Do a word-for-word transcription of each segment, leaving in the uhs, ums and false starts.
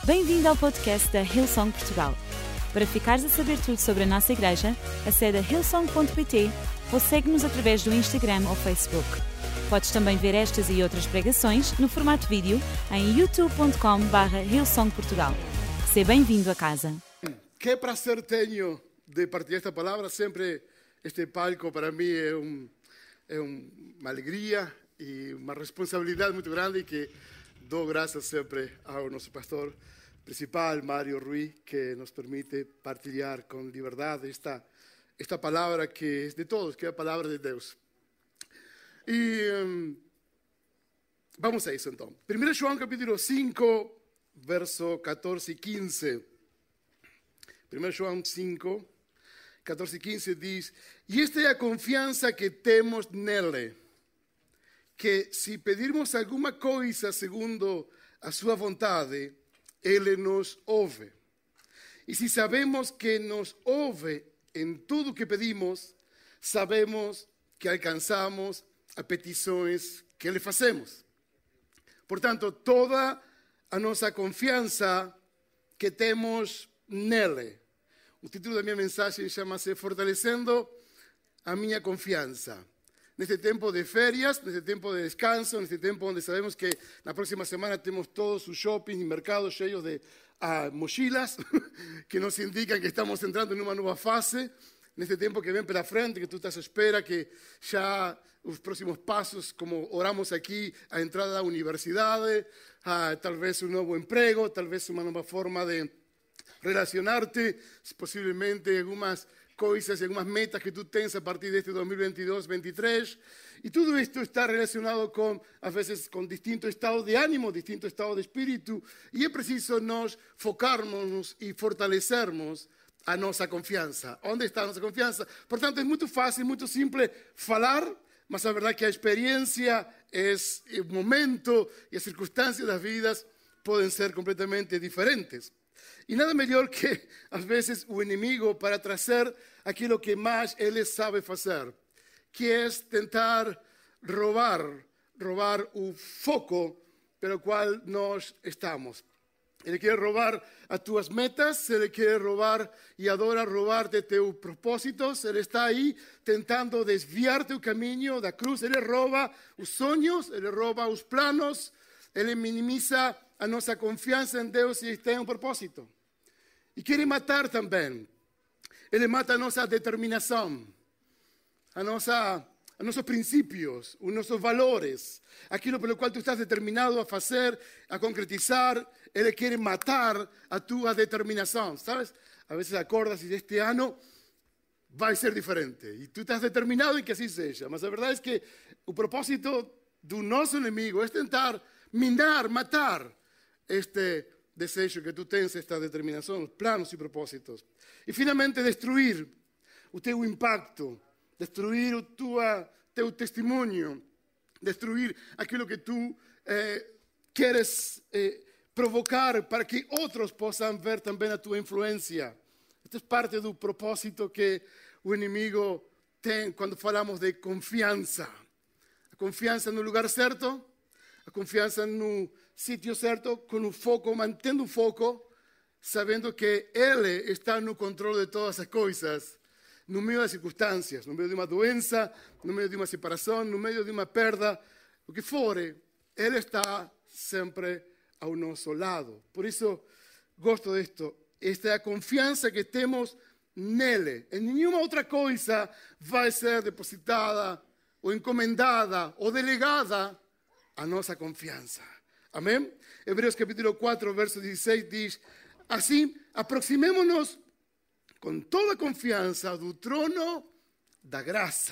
Bem-vindo ao podcast da Hillsong Portugal. Para ficares a saber tudo sobre a nossa igreja, acede a hillsong ponto pt ou segue-nos através do Instagram ou Facebook. Podes também ver estas e outras pregações no formato vídeo em youtube ponto com barra hillsong portugal. Seja bem-vindo a casa. Qué prazer tenho de partilhar esta palavra. Sempre este palco para mim é, um, é um, uma alegria e uma responsabilidade muito grande que dou graças sempre ao nosso pastor principal, Mário Ruiz, que nos permite partilhar com liberdade esta, esta palavra que é de todos, que é a palavra de Deus. E um, vamos a isso então. primeiro João capítulo cinco, verso catorze e quinze. primeiro João cinco, catorze e quinze diz: E esta é a confiança que temos nele, que se pedirmos alguma coisa segundo a sua vontade, Ele nos ouve. E se sabemos que nos ouve em tudo que pedimos, sabemos que alcançamos as petições que lhe fazemos. Portanto, toda a nossa confiança que temos nele. O título da minha mensagem chama-se Fortalecendo a minha confiança. Neste tempo de férias, neste tempo de descanso, neste tempo onde sabemos que na próxima semana temos todos os shoppings e mercados cheios de ah, mochilas, que nos indicam que estamos entrando em uma nova fase, neste tempo que vem pela frente, que tu estás à espera que já os próximos passos, como oramos aqui, a entrada da universidade, ah, talvez um novo emprego, talvez uma nova forma de relacionar-te, possivelmente algumas coisas, algumas metas que tu tens a partir deste dois mil e vinte e dois, vinte e três, e tudo isto está relacionado com, às vezes, com distinto estado de ânimo, distinto estado de espírito, e é preciso nós focarmos e fortalecermos a nossa confiança. Onde está a nossa confiança? Portanto, é muito fácil, muito simples falar, mas a verdade é que a experiência, é, o momento e as circunstâncias das vidas podem ser completamente diferentes. E nada melhor que, às vezes, o inimigo para trazer aquilo que mais ele sabe fazer, que é tentar roubar, roubar o foco pelo qual nós estamos. Ele quer roubar as tuas metas, ele quer roubar e adora roubar de teus propósitos, ele está aí tentando desviar teu caminho da cruz, ele rouba os sonhos, ele rouba os planos, ele minimiza a nossa confiança em Deus e tem um propósito. E quer matar também. Ele mata a nossa determinação, a nossa, os nossos princípios, os nossos valores, aquilo pelo qual tu estás determinado a fazer, a concretizar. Ele quer matar a tua determinação, sabes? A vezes acordas e este ano vai ser diferente. E tu estás determinado em que assim seja. Mas a verdade é que o propósito do nosso inimigo é tentar minar, matar este desejo que tu tens, esta determinação, os planos e propósitos. E finalmente destruir o teu impacto, destruir o tua, teu testemunho, destruir aquilo que tu eh, queres eh, provocar para que outros possam ver também a tua influência. Esta é parte do propósito que o inimigo tem quando falamos de confiança. A confiança no lugar certo, a confiança no sítio certo, com o foco, mantendo o foco, sabendo que Ele está no controle de todas as coisas, no meio das circunstâncias, no meio de uma doença, no meio de uma separação, no meio de uma perda, o que for, Ele está sempre ao nosso lado. Por isso, gosto disto. Esta é a confiança que temos nele. Em nenhuma outra coisa vai ser depositada, ou encomendada, ou delegada a nossa confiança. Amém? Hebreus capítulo quatro, verso dezesseis diz: Assim, aproximemo-nos com toda confiança do trono da graça,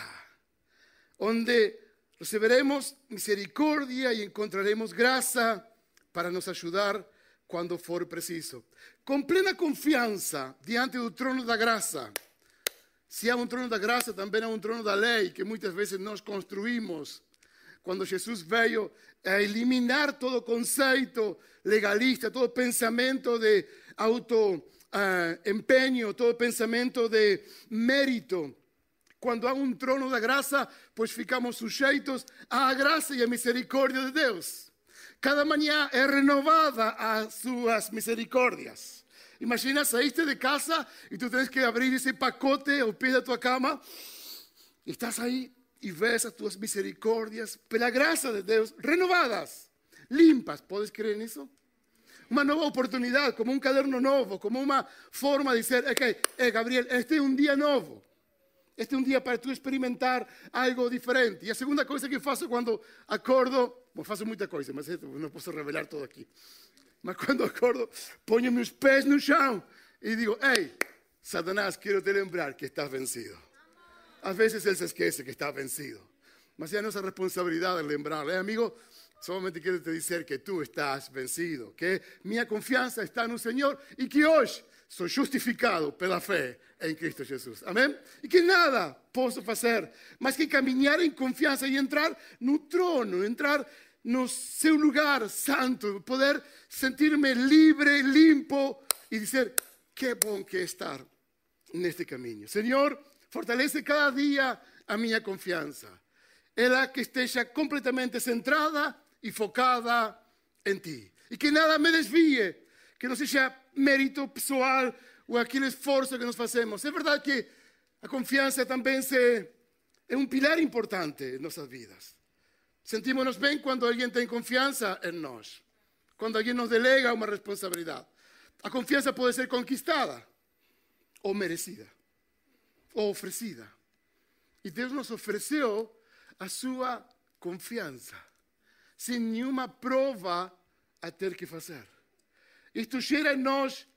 onde receberemos misericórdia e encontraremos graça para nos ajudar quando for preciso. Com plena confiança diante do trono da graça. Se há um trono da graça, também há um trono da lei, que muitas vezes nós construímos. Quando Jesus veio a eliminar todo conceito legalista, todo pensamento de auto-empenho, uh, todo pensamento de mérito. Quando há um trono da graça, pois ficamos sujeitos à graça e à misericórdia de Deus. cada manhã é renovada as suas misericórdias. Imagina, saíste de casa e tu tens que abrir esse pacote ao pé da tua cama. E estás aí e ves as tuas misericórdias, pela graça de Deus, renovadas, limpas. Podes crer nisso? Uma nova oportunidade, como um caderno novo, como uma forma de dizer, ok, eh, Gabriel, este é um dia novo. Este é um dia para tu experimentar algo diferente. E a segunda coisa que faço quando acordo, bom, faço muita coisa, mas não posso revelar tudo aqui. Mas quando acordo, ponho meus pés no chão e digo, ei, Satanás, quero te lembrar que estás vencido. Às vezes ele se esquece que está vencido. Mas é a nossa responsabilidade lembrar. Eh, amigo, solamente quero te dizer que tu estás vencido, que minha confiança está no Senhor e que hoje sou justificado pela fé em Cristo Jesus. Amém? E que nada posso fazer, mas que caminhar em confiança e entrar no trono, entrar no seu lugar santo, poder sentir-me livre, limpo e dizer, que bom que é estar neste caminho. Senhor, fortalece cada dia a minha confiança. Ela que esteja completamente centrada e focada em Ti. E que nada me desvie, que não seja mérito pessoal ou aquele esforço que nós fazemos. É verdade que a confiança também se, é um pilar importante em nossas vidas. Sentimos-nos bem quando alguém tem confiança em nós. Quando alguém nos delega uma responsabilidade. A confiança pode ser conquistada ou merecida. Ou oferecida. E Deus nos ofereceu a sua confiança. Sem nenhuma prova a ter que fazer. Isto gera em nós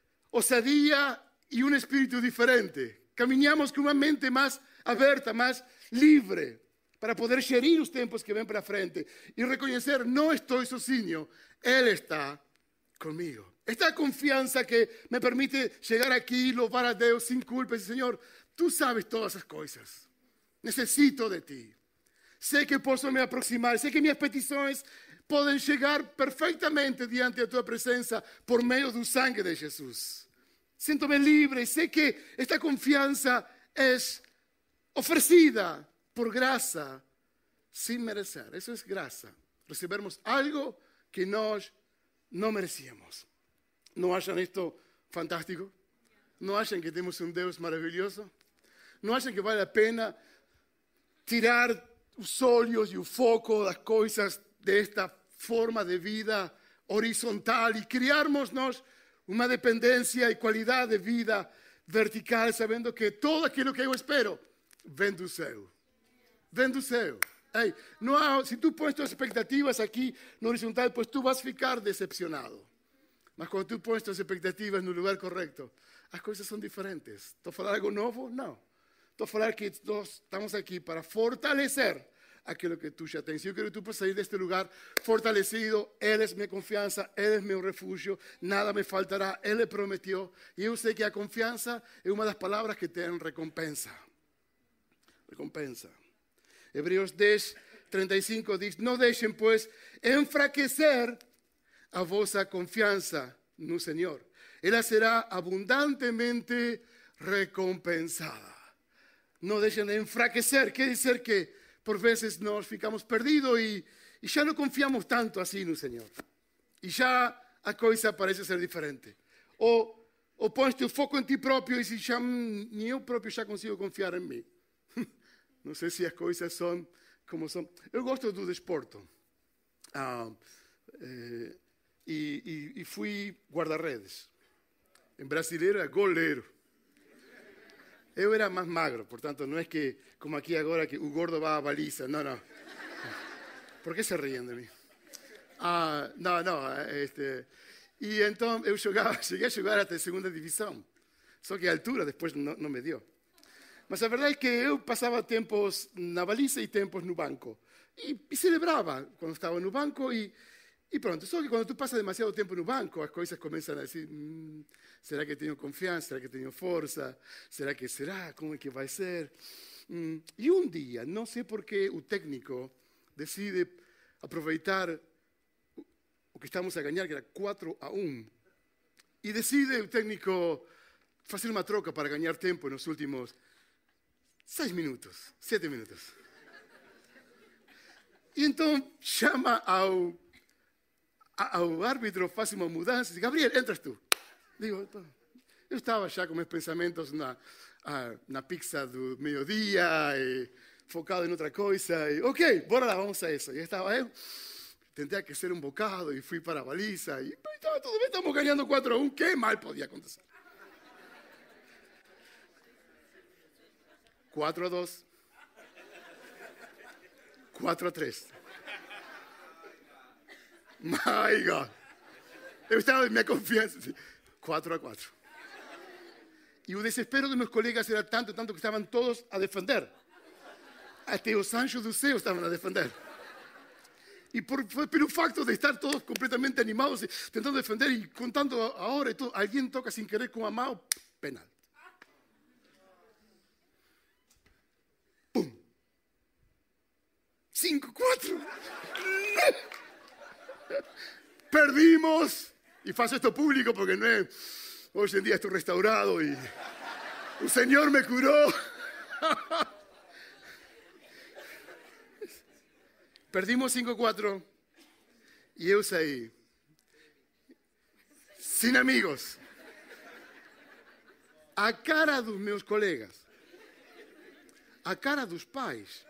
ousadia e um espírito diferente. Caminhamos com uma mente mais aberta, mais livre, para poder gerir os tempos que vêm para frente e reconhecer, não estou sozinho, Ele está comigo. Esta confiança que me permite chegar aqui e louvar a Deus sem culpa e dizer, Senhor, Tu sabes todas as coisas. Necessito de Ti. Sei que posso me aproximar, sei que minhas petições podem chegar perfeitamente diante da Tua presença por meio do sangue de Jesus. Sinto-me livre e sei que esta confiança é oferecida por graça, sem merecer. Isso é graça. Recebermos algo que nós não merecíamos. Não acham isto fantástico? Não acham que temos um Deus maravilhoso? Não acham que vale a pena tirar os olhos e o foco das coisas desta forma de vida horizontal e criarmos nós uma dependência e qualidade de vida vertical, sabendo que tudo aquilo que eu espero vem do céu. Vem do céu. Ei, não há, se tu pões tuas expectativas aqui no horizontal, pues tu vas ficar decepcionado. Mas quando tu pões tuas expectativas no lugar correto, as coisas são diferentes. Estou a falar algo novo? Não. Estou a falar que nós estamos aqui para fortalecer aquilo que tu já tens. Eu quero que tu possas sair deste lugar fortalecido. Ele é minha confiança, Ele é meu refúgio, nada me faltará, Ele prometeu. E eu sei que a confiança é uma das palavras que tem recompensa. Recompensa. Hebreus dez, trinta e cinco diz, não deixem, pois, enfraquecer a vossa confiança no Senhor. Ela será abundantemente recompensada. Não deixem de enfraquecer, quer dizer que por vezes nós ficamos perdidos e, e já não confiamos tanto assim no Senhor. E já a coisa parece ser diferente. Ou, ou pões o foco em ti próprio e se já, nem eu próprio já consigo confiar em mim. Não sei se as coisas são como são. Eu gosto do desporto. Ah, eh, e, e, e fui guarda-redes. Em brasileiro é goleiro. Eu era mais magro, portanto, não é que, como aqui agora, que o gordo vai à baliza. Não, não. Por que se riem de mim? Ah, não, não. Este, e então eu jogava, cheguei a jogar até a segunda divisão. Só que a altura depois não, não me deu. Mas a verdade é que eu passava tempos na baliza e tempos no banco. E, e celebrava quando estava no banco e, e pronto. Só que quando tu passas demasiado tempo no banco, as coisas começam a dizer, hum, será que tenho confiança? Será que tenho força? Será que será? Como é que vai ser? Hum. E um dia, não sei por que o técnico decide aproveitar o que estamos a ganhar, que era quatro a um. E decide o técnico fazer uma troca para ganhar tempo nos últimos seis minutos, sete minutos. E então chama ao, o árbitro faz uma mudança e diz, Gabriel, entras tu. Digo, eu estava já com meus pensamentos na, na pizza do meio-dia, e focado em outra coisa. E, ok, bora lá, vamos a isso. E estava eu, tentei aquecer um bocado e fui para a baliza. E estava tudo bem, estamos ganhando quatro a um, que mal podia acontecer? quatro a dois. quatro a três. My God. Eu estava em minha confiança. quatro a quatro. E o desespero dos meus colegas era tanto, tanto que estavam todos a defender. Até os anjos do céu estavam a defender. E por, pelo facto de estar todos completamente animados, tentando defender e contando a hora e tudo, alguém toca sem querer com a mão, penal. Pum. cinco, quatro. Perdimos. E faço isto público porque não é... Hoje em dia estou restaurado e o Senhor me curou. Perdimos cinco a quatro e eu saí sem amigos. A cara dos meus colegas, a cara dos pais,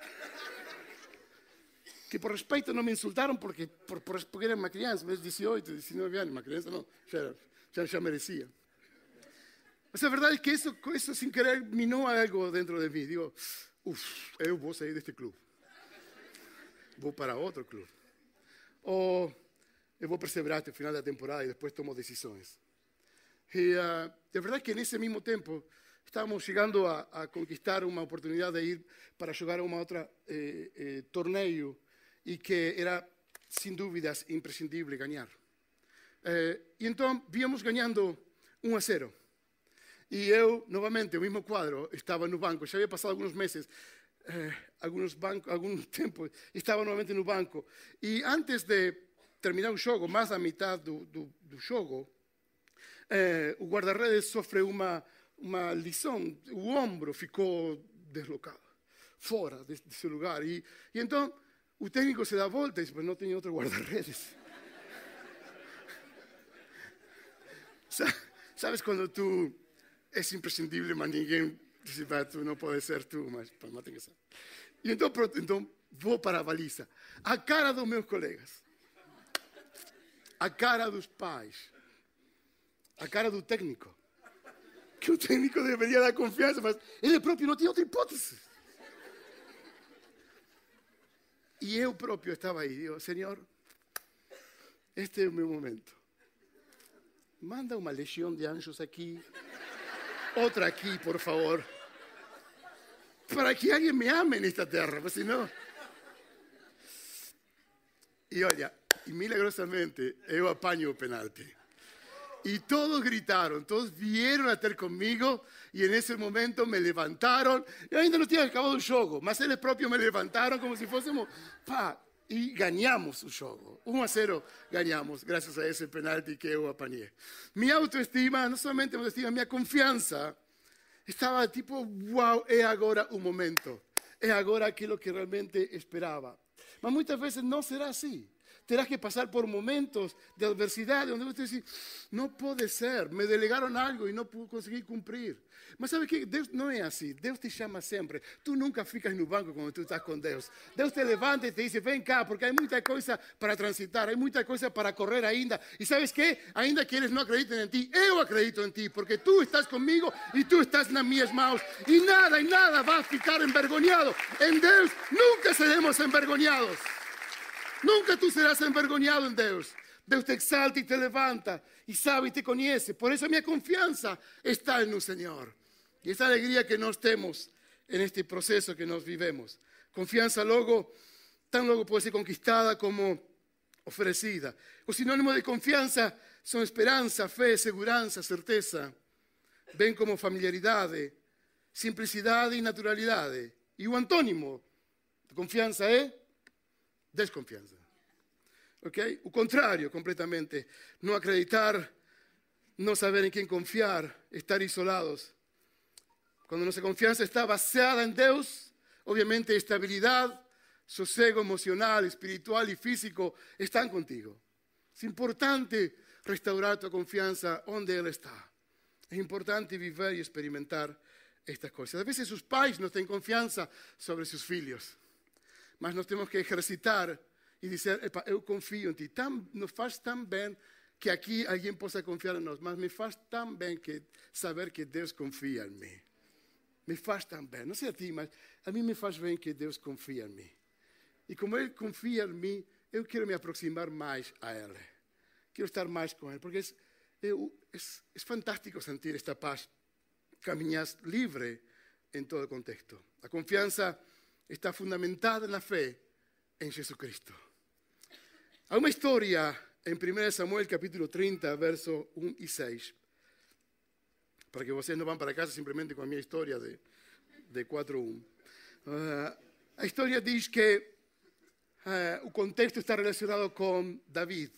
que por respeito não me insultaram porque, por, por, porque era uma criança, mas dezoito, dezenove anos, uma criança não, já, já, já merecia. Mas a verdade é que isso, isso sem querer minou algo dentro de mim. Digo, uff, eu vou sair deste clube. Vou para outro clube. Ou eu vou perseverar até o final da temporada e depois tomo decisões. E uh, a verdade é que nesse mesmo tempo estávamos chegando a, a conquistar uma oportunidade de ir para jogar uma outra eh, eh, torneio e que era, sem dúvidas, imprescindível ganhar. Eh, e então víamos ganhando um a zero. E eu, novamente, o mesmo quadro, estava no banco. Já havia passado alguns meses, eh, alguns banco, algum tempo, estava novamente no banco. E antes de terminar o jogo, mais da metade do, do, do jogo, eh, o guarda-redes sofre uma, uma lição. O ombro ficou deslocado, fora desse de lugar. E, e então o técnico se dá a volta e diz, mas não tem outro guarda-redes. Sabes quando tu... É imprescindível, mas ninguém diz, tu não pode ser tu, mas, mas tem que ser. E então, pronto, então vou para a baliza. A cara dos meus colegas, a cara dos pais, a cara do técnico, que o técnico deveria dar confiança, mas ele próprio não tinha outra hipótese. E eu próprio estava aí, digo, Senhor, este é o meu momento. Manda uma legião de anjos aqui. Outra aqui, por favor, para que alguém me ame nesta terra, porque senão... E olha, e milagrosamente eu apanho o penalti. E todos gritaram, todos vieram a ter comigo e nesse momento me levantaram. Eu ainda não tinha acabado o jogo, mas eles próprios me levantaram como se fôssemos... Pá, e ganhamos o jogo. um a zero ganhamos, graças a esse penalti que eu apanhei. Minha autoestima, não somente minha autoestima, minha confiança, estava tipo, uau, é agora o momento. É agora aquilo que realmente esperava. Mas muitas vezes não será assim. Terás que passar por momentos de adversidade, onde você diz, não pode ser, me delegaram algo e não consegui cumprir. Mas sabe que Deus não é assim, Deus te chama sempre. Tu nunca ficas no banco quando tu estás com Deus. Deus te levanta e te diz, vem cá, porque há muita coisa para transitar, há muita coisa para correr ainda. E sabes que, ainda que eles não acreditem em ti, eu acredito em ti, porque tu estás comigo e tu estás nas minhas mãos. E nada, e nada vai ficar envergonhado. Em Deus nunca seremos envergonhados. Nunca tú serás envergonhado en Deus. Deus te exalta e te levanta e sabe e te conhece. Por isso a minha confiança está no Senhor. E essa alegria que nós temos neste processo que nós vivemos. Confiança logo, tão logo pode ser conquistada como oferecida. O sinônimo de confiança são esperança, fé, segurança, certeza. Bem como familiaridade, simplicidade e naturalidade. E o antônimo de confiança é desconfiança. Ok? O contrário, completamente. Não acreditar, não saber em quem confiar, estar isolados. Quando nossa confiança está baseada em Deus, obviamente estabilidade, sossego emocional, espiritual e físico estão contigo. É importante restaurar tua confiança onde ela está. É importante viver e experimentar estas coisas. Às vezes os pais não têm confiança sobre seus filhos, mas nós temos que exercitar e dizer, epa, eu confio em ti. Tam, nos faz tão bem que aqui alguém possa confiar em nós, mas me faz tão bem que saber que Deus confia em mim. Me faz tão bem. Não sei a ti, mas a mim me faz bem que Deus confia em mim. E como Ele confia em mim, eu quero me aproximar mais a Ele. Quero estar mais com Ele, porque é, é, é, é fantástico sentir esta paz, caminhar livre em todo contexto. A confiança está fundamentada na fé em Jesus Cristo. Há uma história em primeiro Samuel, capítulo trinta, verso um e seis. Para que vocês não vão para casa simplesmente com a minha história de, de quatro um. Uh, a história diz que uh, o contexto está relacionado com David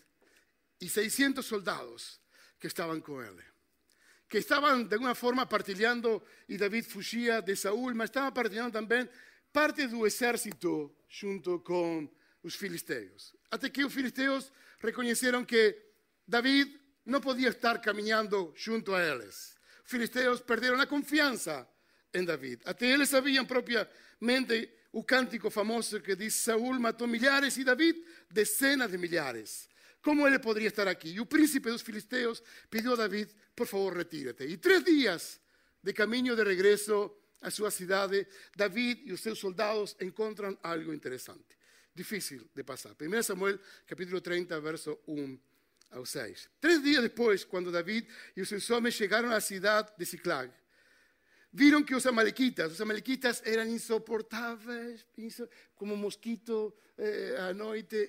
e seiscentos soldados que estavam com ele. Que estavam de alguma forma partilhando, e David fugia de Saúl, mas estavam partilhando também parte do exército junto com os filisteus. Até que os filisteus reconheceram que David não podia estar caminhando junto a eles. Os filisteus perderam a confiança em David. Até eles sabiam propriamente o cântico famoso que diz: Saúl matou milhares e David dezenas de milhares. Como ele poderia estar aqui? E o príncipe dos filisteus pediu a David: por favor, retírate. E três dias de caminho de regresso à sua cidade, David e os seus soldados encontram algo interessante, difícil de passar. primeiro Samuel, capítulo trinta, verso um ao seis. Três dias depois, quando David e os seus homens chegaram à cidade de Ziclag, viram que os amalequitas, os amalequitas eram insuportáveis, como mosquito eh, à noite,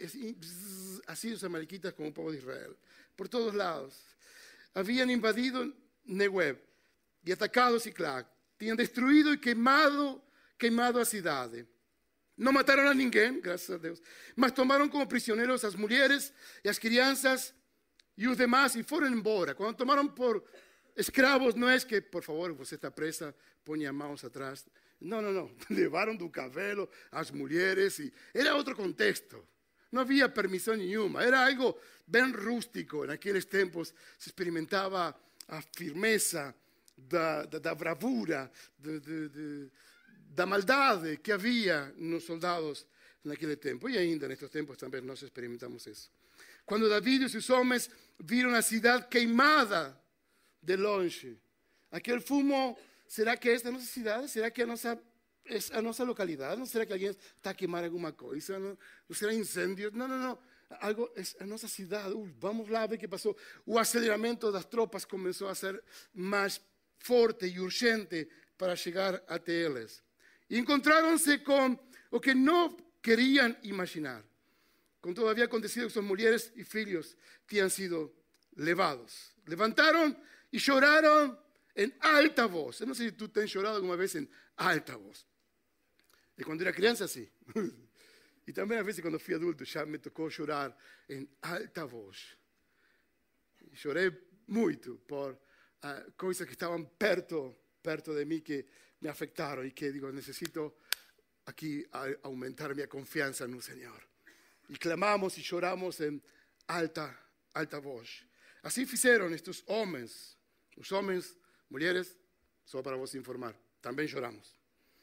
assim os amalequitas como o povo de Israel, por todos lados. Haviam invadido Negueb e atacado Ziclag. Tinham destruído e queimado, queimado a cidade. Não mataram a ninguém, graças a Deus, mas tomaram como prisioneiros as mulheres e as crianças e os demais e foram embora. Quando tomaram por escravos, não é que, por favor, você está presa, ponha mãos atrás. Não, não, não. Levaram do cavalo as mulheres e era outro contexto. Não havia permissão nenhuma. Era algo bem rústico. Naqueles tempos se experimentava a firmeza da, da, da bravura, de, de, de, da maldade que havia nos soldados naquele tempo. E ainda nestes tempos também nós experimentamos isso. Quando David e seus homens viram a cidade queimada de longe, aquele fumo, será que é esta nossa cidade? Será que é a nossa, é a nossa localidade? Não será que alguém está a queimar alguma coisa? Não, não será incêndios? Não, não, não. Algo é a nossa cidade. Uh, vamos lá ver o que passou. O aceleramento das tropas começou a ser mais forte e urgente para chegar até eles. E encontraram-se com o que não queriam imaginar. Com tudo havia acontecido que suas mulheres e filhos tinham sido levados. Levantaram e choraram em alta voz. Eu não sei se tu tens chorado alguma vez em alta voz. E quando era criança, sim. E também, às vezes, quando fui adulto, já me tocou chorar em alta voz. E chorei muito por uh, coisas que estavam perto, perto de mim, que me afetaram e que, digo, necessito aqui aumentar minha confiança no Senhor. E clamamos e choramos em alta, alta voz. Assim fizeram estes homens, os homens, mulheres, só para vos informar, também choramos.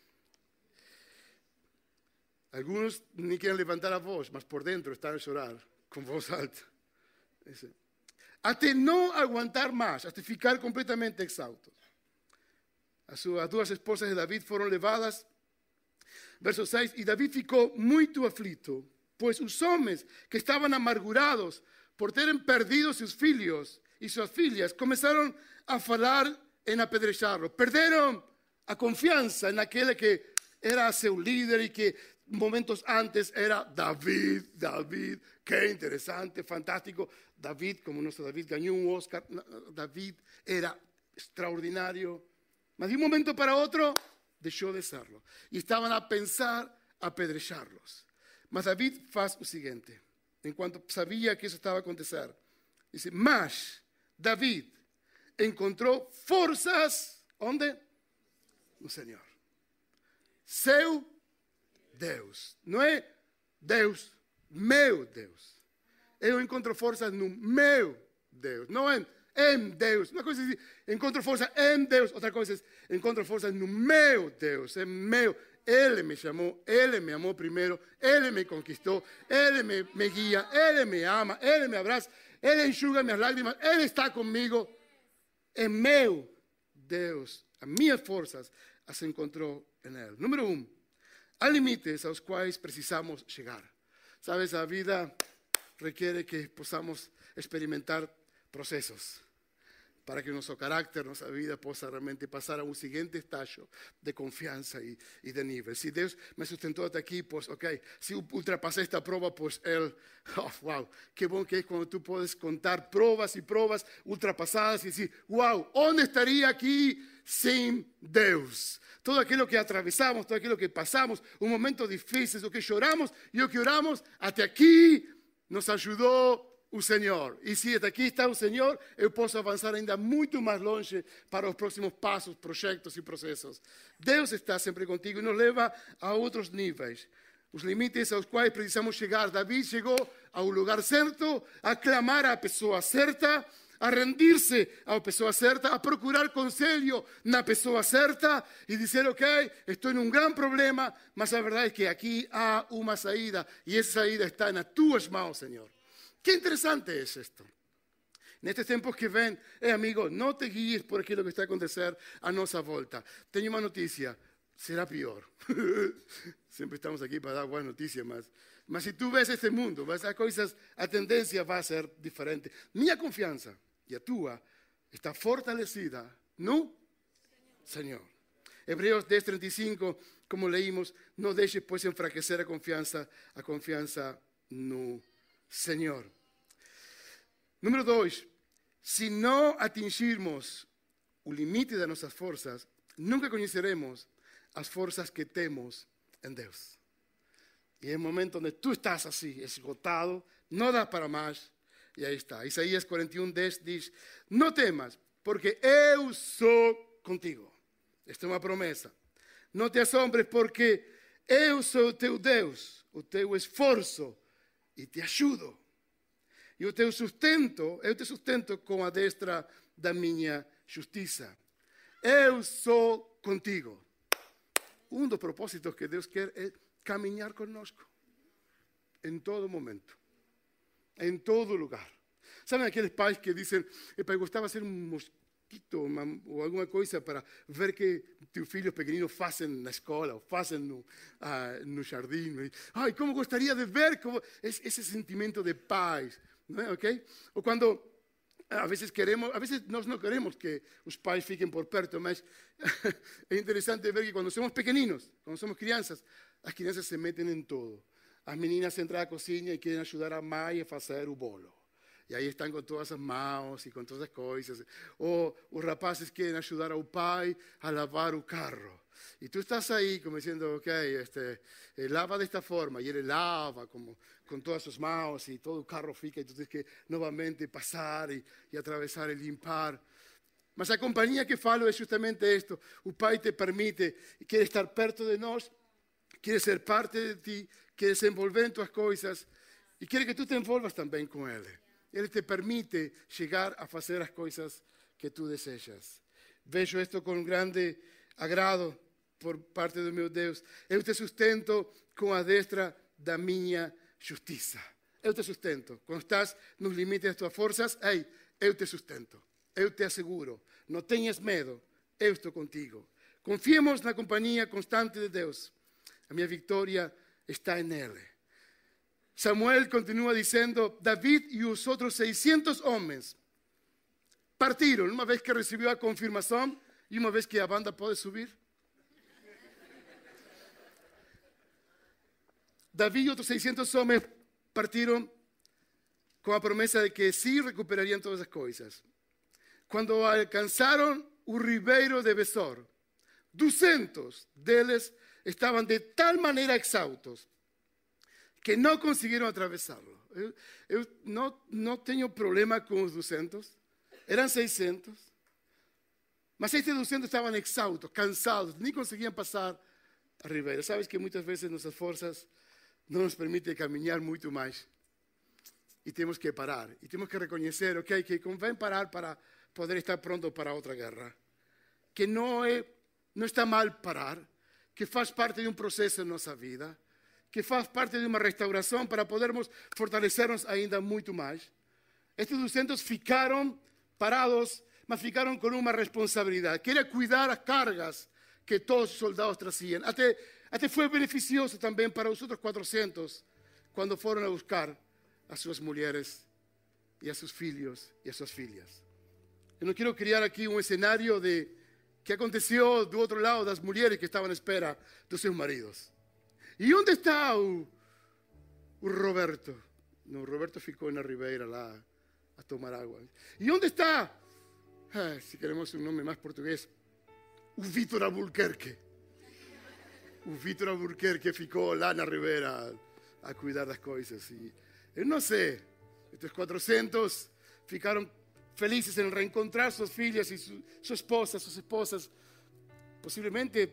Alguns nem querem levantar a voz, mas por dentro estão a chorar, com voz alta. Até não aguentar mais, até ficar completamente exaustos. As suas duas esposas de David foram levadas, verso seis, e David ficou muito aflito, pois os homens que estavam amargurados por terem perdido seus filhos e suas filhas, começaram a falar em apedrejarlo. Perderam a confiança naquele que era seu líder e que momentos antes era David, David, que interessante, fantástico. David, como nosso David ganhou um Oscar, David era extraordinário. Mas de um momento para outro, deixou de serlo. E estavam a pensar apedrejarlos. Mas David faz o seguinte, enquanto sabia que isso estava a acontecer, disse, mas David encontrou forças, onde? No Senhor. Seu Deus. Não é Deus, meu Deus. eu encontro forças no meu Deus, não em, em Deus. Uma coisa é dizer, encontro força em Deus, outra coisa é, encontro forças no meu Deus, é meu. Ele me chamou, Ele me amou primeiro, Ele me conquistou, Ele me, me guia, Ele me ama, Ele me abraça, Ele enxuga minhas lágrimas, Ele está comigo. É meu Deus, as minhas forças as encontrou em Ele. Número um, há limites aos quais precisamos chegar. Sabes, a vida requiere que possamos experimentar processos para que nuestro carácter, nuestra vida possa realmente pasar a un siguiente estallo de confianza y, y de nivel. Si Dios me sustentó hasta aquí, pues ok, si ultrapasé esta prueba, pues Él, oh, wow, qué bueno que es cuando tú puedes contar pruebas y pruebas ultrapasadas y decir, wow, ¿dónde estaría aquí sin Dios? Todo aquello que atravesamos, todo aquello que pasamos, un momento difícil, lo que lloramos y lo que oramos, hasta aquí nos ayudó o Senhor. E se aqui está o Senhor, eu posso avançar ainda muito mais longe para os próximos passos, projetos e processos. Deus está sempre contigo e nos leva a outros níveis. Os limites aos quais precisamos chegar. Davi chegou ao lugar certo, a clamar à pessoa certa, a rendir-se à pessoa certa, a procurar conselho na pessoa certa e dizer, ok, estou num grande problema, mas a verdade é que aqui há uma saída e essa saída está nas tuas mãos, Senhor. Qué interesante es esto. En estos tiempos que ven, eh, amigo, no te guíes por aquello que está a acontecer a nuestra volta. Tengo una noticia, será peor. Siempre estamos aquí para dar buenas noticias, mas, mas si tú ves este mundo, ves a cosas, a tendencia va a ser diferente. Mi confianza y a tua está fortalecida, ¿no? Señor. Señor. Hebreos diez, treinta y cinco, como leímos, no dejes pues enfraquecer a confianza, a confianza no Senhor. Número dois, se não atingirmos o limite das nossas forças, nunca conheceremos as forças que temos em Deus. E é o momento onde tu estás assim, esgotado, não dá para mais, e aí está. Isaías quarenta e um, dez diz, não temas, porque eu sou contigo. Esta é uma promessa. Não te assombres, porque eu sou o teu Deus, o teu esforço, e te ajudo. E o teu sustento, eu te sustento com a destra da minha justiça. Eu sou contigo. Um dos propósitos que Deus quer é caminhar conosco. Em todo momento. Em todo lugar. Sabem aqueles pais que dizem, eu gostava de ser um mosquito uma, ou alguma coisa para ver que teus filhos pequeninos fazem na escola, ou fazem no, uh, no jardim. Ai, como gostaria de ver como, esse sentimento de paz, não é? Okay? Ou quando, a vezes queremos, a vezes nós não queremos que os pais fiquem por perto, mas é interessante ver que quando somos pequeninos, quando somos crianças, as crianças se metem em tudo. As meninas entram à cozinha e querem ajudar a mãe a fazer o bolo. E aí estão com todas as mãos e com todas as coisas. Ou os rapazes querem ajudar ao pai a lavar o carro. E tu estás aí como dizendo, ok, este, eh, lava desta forma. E ele lava como, com todas as mãos e todo o carro fica. E tu tens que novamente passar e, e atravessar e limpar. Mas a companhia que falo é justamente isto. O pai te permite, quer estar perto de nós, quer ser parte de ti, quer se envolver em tuas coisas e quer que tu te envolvas também com ele. Ele te permite chegar a fazer as coisas que tu desejas. Vejo isto com grande agrado por parte do meu Deus. Eu te sustento com a destra da minha justiça. Eu te sustento. Quando estás nos limites das tuas forças, ei, eu te sustento. Eu te asseguro. Não tenhas medo. Eu estou contigo. Confiemos na companhia constante de Deus. A minha vitória está em Ele. Samuel continúa diciendo, David y los otros seiscientos hombres partieron una vez que recibió la confirmación y una vez que la banda puede subir. David y otros seiscientos hombres partieron con la promesa de que sí recuperarían todas las cosas. Cuando alcanzaron un ribeiro de Besor, doscientos de ellos estaban de tal manera exhaustos que não conseguiram atravessá-lo. Eu, eu não, não tenho problema com os duzentos, eram seiscentos, mas estes duzentos estavam exaustos, cansados, nem conseguiam passar a ribeira. Sabes que muitas vezes nossas forças não nos permitem caminhar muito mais. y tenemos que parar. Y tenemos que reconocer, ok, que conviene parar para poder estar pronto para otra guerra. Que no, é, não está mal parar, que faz parte de um processo em nossa vida, que faz parte de uma restauração para podermos fortalecer-nos ainda muito mais. Estes duzentos ficaram parados, mas ficaram com uma responsabilidade, que era cuidar as cargas que todos os soldados traziam. Até, até foi beneficioso também para os outros quatrocentos, quando foram a buscar a suas mulheres e a seus filhos e a suas filhas. Eu não quero criar aqui um cenário de que aconteceu do outro lado das mulheres que estavam à espera dos seus maridos. E onde está o, o Roberto? Não, o Roberto ficou na ribeira lá a tomar água. E onde está, ah, se queremos um nome mais português, o Vítor Albuquerque? O Vítor Albuquerque ficou lá na ribeira a, a cuidar das coisas. E eu não sei, estes quatrocentos ficaram felizes em reencontrar suas filhas e su, sua esposa, suas esposas. Possivelmente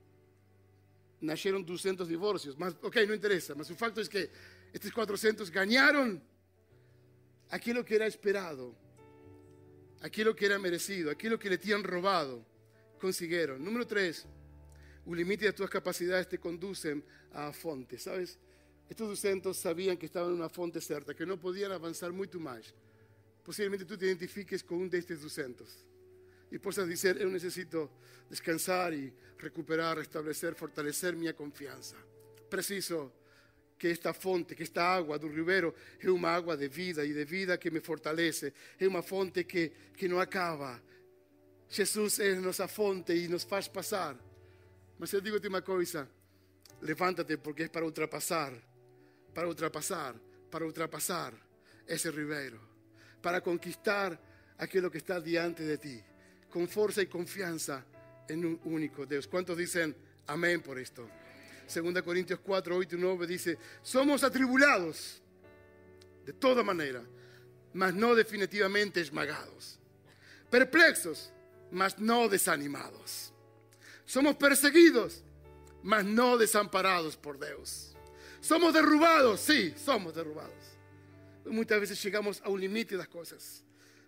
nasceram duzentos divórcios, mas ok, não interessa. Mas o facto é que estes quatrocentos ganharam aquilo que era esperado, aquilo que era merecido, aquilo que lhe tinham roubado, conseguiram. Número três, o limite das tuas capacidades te conduzem à fonte, sabes? Estes duzentos sabiam que estavam em uma fonte certa, que não podiam avançar muito mais. Possivelmente tu te identifiques com um destes duzentos e possas dizer, eu necessito descansar e recuperar, restabelecer, fortalecer minha confiança. Preciso que esta fonte, que esta água do ribeiro é uma água de vida e de vida que me fortalece, é uma fonte que, que não acaba. Jesus é nossa fonte e nos faz passar. Mas eu digo-te uma coisa, levanta-te porque é para ultrapassar, para ultrapassar, para ultrapassar esse ribeiro, para conquistar aquilo que está diante de ti, com força e confiança em um único Deus. Quantos dizem amém por isto? Segunda Coríntios cuatro, oito y nueve dice, somos atribulados de toda manera, mas no definitivamente esmagados, perplexos, mas no desanimados. Somos perseguidos, mas no desamparados por Deus. Somos derrubados, sí, somos derrubados. Muitas vezes chegamos a um limite das coisas.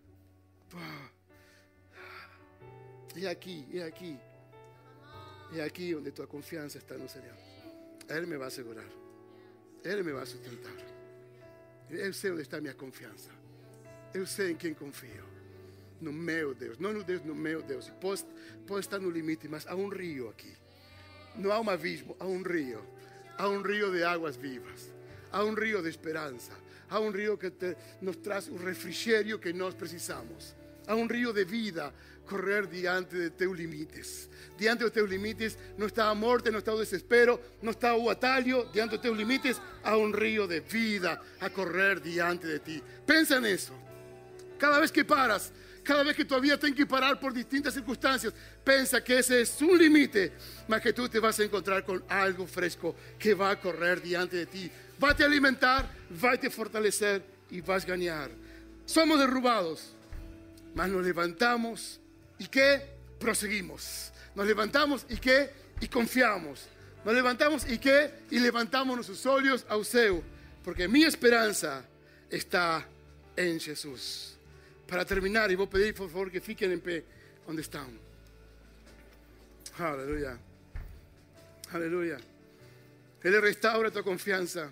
É aqui, é aqui. É aqui onde tua confiança está no Senhor. Ele me vai segurar. Ele me vai sustentar. Eu sei onde está a minha confiança. Eu sei em quem confio. No meu Deus. Não no Deus, no meu Deus. Pode, pode estar no limite, mas há um rio aqui. Não há um abismo, há um rio. Há um rio de águas vivas. Há um rio de esperança. Há um rio que te, nos traz o refrigério que nós precisamos. Há um rio de vida correr diante de teus limites. Diante dos teus limites não está a morte, não está o desespero, não está o atalho. Diante dos teus limites há um rio de vida a correr diante de ti. Pensa nisso. Cada vez que paras, cada vez que tua vida tem que parar por distintas circunstâncias, pensa que esse é um limite, mas que tu te vas a encontrar com algo fresco que vai correr diante de ti. Vai te alimentar, vai te fortalecer e vais ganhar. Somos derrubados, mas nos levantamos e que prosseguimos. Nos levantamos e que e confiamos. Nos levantamos e que e levantamos nossos olhos ao céu, porque minha esperança está em Jesus. Para terminar, e vou pedir por favor que fiquem em pé onde estão. Aleluia. Aleluia. Ele restaura tua confiança.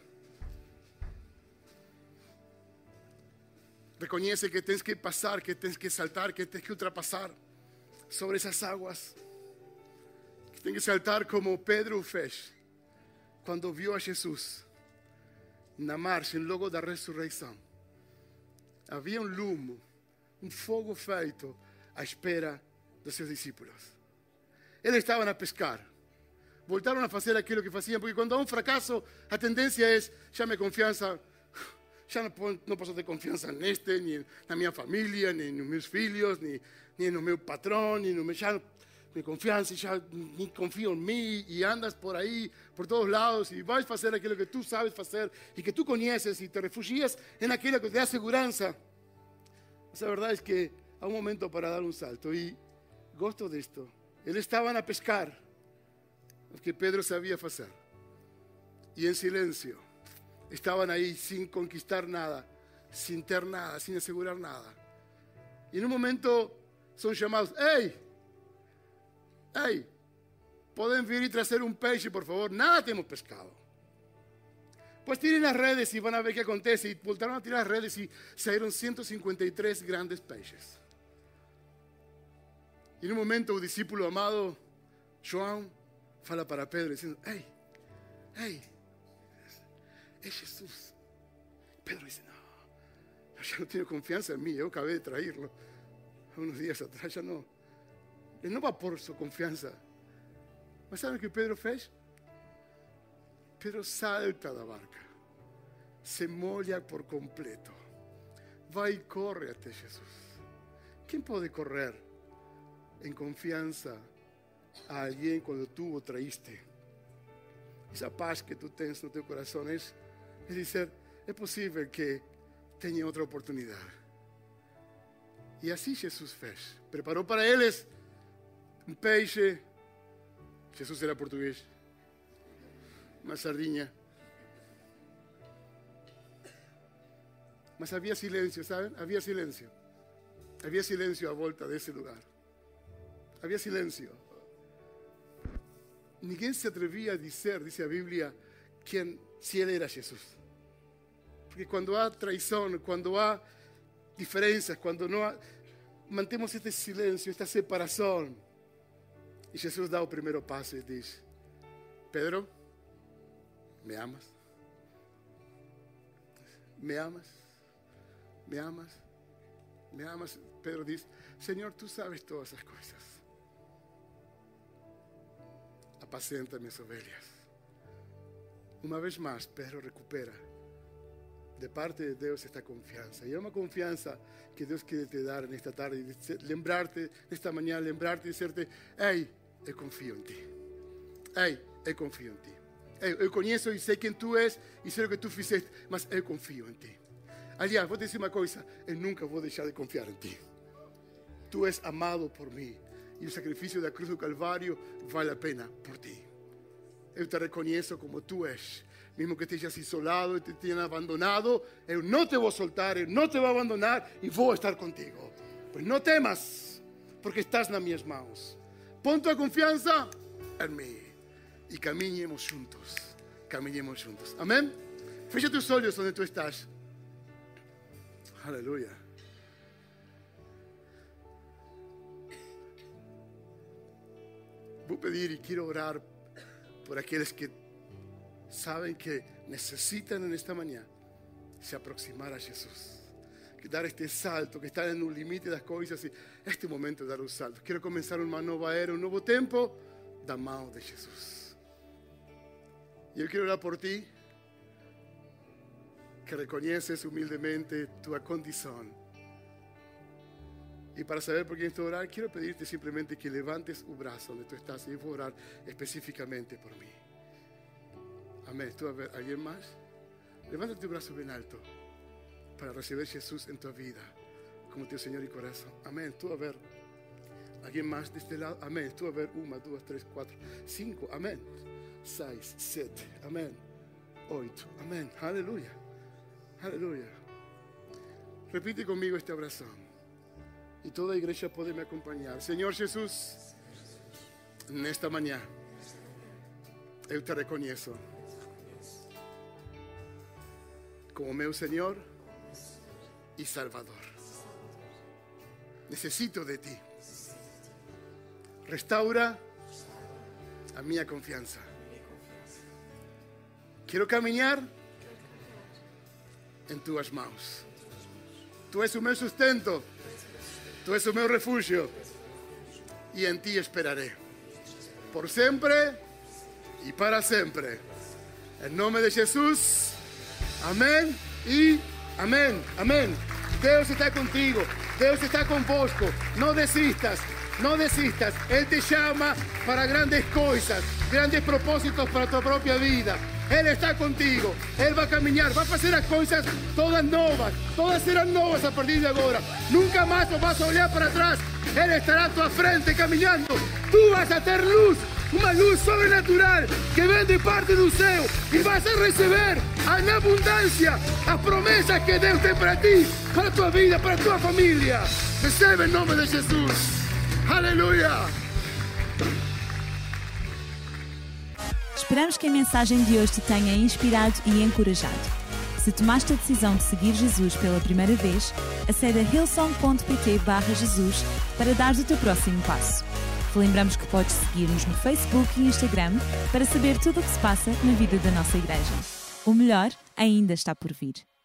Reconhece que tens que passar, que tens que saltar, que tens que ultrapassar sobre essas águas. Que tens que saltar como Pedro fez quando viu a Jesus na margem logo da ressurreição. Havia um lume, um fogo feito à espera dos seus discípulos. Eles estavam a pescar. Voltaram a fazer aquilo que faziam, porque quando há um fracasso, a tendência é, já minha confiança, já não, não posso ter confiança neste, nem na minha família, nem nos meus filhos, nem, nem no meu patrão, nem no meu... Já, minha confiança, já nem confio em mim, e andas por aí, por todos lados, e vais fazer aquilo que tu sabes fazer, e que tu conheces, e te refugias naquilo que te dá segurança. Mas a verdade é que há um momento para dar um salto, e gosto disto. Eles estavam a pescar, o que Pedro sabia fazer, e em silêncio, estavam aí sem conquistar nada, sin ter nada, sin asegurar nada. Y en un momento son llamados, ¡hey! ¡Hey! ¿Pueden venir y traer un peixe, por favor? Nada tenemos pescado. Pues tiren las redes y van a ver qué acontece. Y voltaron a tirar las redes y salieron ciento cincuenta y tres grandes peixes. Y en un momento el discípulo amado, João, fala para Pedro diciendo, ¡hey! ¡Hey! Es Jesús. Pedro dice, no, yo ya no tengo confianza en mí, yo acabé de traerlo unos días atrás, ya no. Él no va por su confianza. ¿Mas saben que Pedro fez? Pedro salta da barca, se molha por completo, vai e corre até Jesus. Quem pode correr em confiança a alguém quando tu o traíste? Essa paz que tu tens no teu coração é, é dizer, é possível que tenha outra oportunidade. E assim Jesus fez. Preparou para eles um peixe. Jesus era português. Uma sardinha. Mas havia silêncio, ¿saben? Havia silêncio. Havia silêncio à volta desse lugar. Havia silêncio. Ninguém se atrevia a dizer, dice a Bíblia, quem, se ele era Jesus. Porque quando há traição, quando há diferenças, quando não há, mantemos este silêncio, esta separação. E Jesus dá o primeiro passo e diz, Pedro, ¿me amas? ¿Me amas? ¿Me amas? ¿Me amas? Pedro dice, Señor, tú sabes todas esas cosas. Apacenta mis ovelhas. Uma vez más, Pedro recupera de parte de Deus esta confiança. E é uma confiança que Deus quer te dar nesta tarde. Lembrarte, nesta manhã, lembrarte e dizer-te, ei, eu confio em ti. Ei, eu confio em ti. Eu, eu conheço e sei quem tu és e sei o que tu fizeste, mas eu confio em ti. Aliás, vou te dizer uma coisa, eu nunca vou deixar de confiar em ti. Tu és amado por mim e o sacrifício da cruz do Calvário vale a pena por ti. Eu te reconheço como tu és. Mesmo que estejas isolado e te tenham abandonado, eu não te vou soltar, eu não te vou abandonar e vou estar contigo. Pois não temas, porque estás nas minhas mãos. Pon tua confiança em mim e caminhemos juntos. Caminhemos juntos. Amém? Fecha tus olhos onde tu estás. Aleluia. Vou pedir e quero orar por aqueles que sabem que necessitam nesta manhã se aproximar a Jesus, que dar este salto, que están no limite das coisas e este momento de dar um salto. Quero começar uma nova era, um novo tempo da mão de Jesus. E eu quero orar por ti, que reconheces humildemente tua condição. E para saber por quem estou a orar, quero pedir-te simplesmente que levantes o braço onde tu estás e eu vou orar especificamente por mim. Amém. ¿Tú a ver alguien más? Levanta tu brazo bien alto para recibir a Jesús en tu vida como tu Señor y corazón. Amén. Tú a ver alguien más de este lado. Amén. Tú a ver una, dos, tres, cuatro, cinco. Amén. Seis, siete. Amén. Ocho. Amén. Aleluya. Aleluya. Repite conmigo esta oración. Y toda la iglesia puede me acompañar. Señor Jesús, en esta mañana, yo te reconozco como meu Señor y Salvador. Necesito de ti. Restaura a mi confianza. Quiero caminar en tus manos. Tú eres o meu sustento. Tú eres o meu refugio. Y en ti esperaré. Por siempre y para siempre. En nombre de Jesús. Amém e amém, amém. Deus está contigo, Deus está convosco. Não desistas, não desistas. Ele te chama para grandes coisas, grandes propósitos para tua própria vida. Ele está contigo, Ele vai caminhar, vai fazer as coisas todas novas, todas serão novas a partir de agora. Nunca mais vas a olhar para trás, Ele estará à tua frente caminhando. Tu vas a ter luz, uma luz sobrenatural que vem de parte do céu e vas a receber en abundancia las promesas que Dios tem para ti, para tu vida, para tu familia. Recebe en nombre de Jesús. Aleluya. Esperamos que a mensagem de hoje te tenha inspirado e encorajado. Se tomaste a decisão de seguir Jesus pela primeira vez, acede a hillsong.pt barra Jesus para dar o teu próximo passo. Te lembramos que podes seguir-nos no Facebook e Instagram para saber tudo o que se passa na vida da nossa igreja. O melhor ainda está por vir.